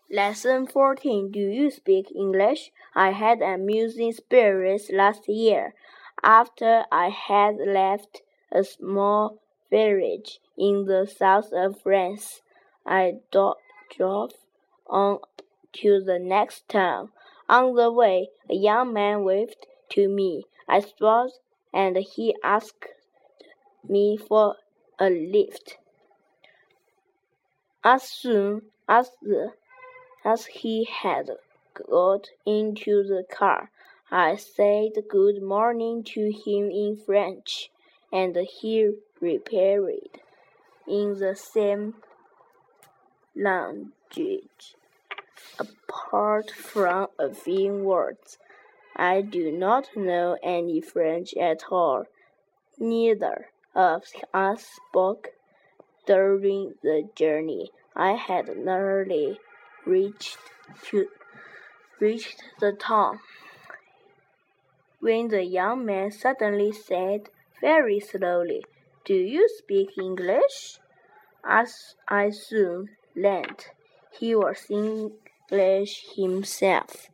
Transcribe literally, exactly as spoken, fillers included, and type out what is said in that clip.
Lesson fourteen. Do you speak English? I had an amusing experience last year. After I had left a small village in the south of France, I do- drove on to the next town. On the way, a young man waved to me. I stopped and he asked me for a lift. As soon as the As he had got into the car, I said good morning to him in French, and he replied in the same language. Apart from a few words, I do not know any French at all. Neither of us spoke during the journey. I had nearly reached to reached the town when the young man suddenly said very slowly, "Do you speak English?" As I soon learned, he was English himself.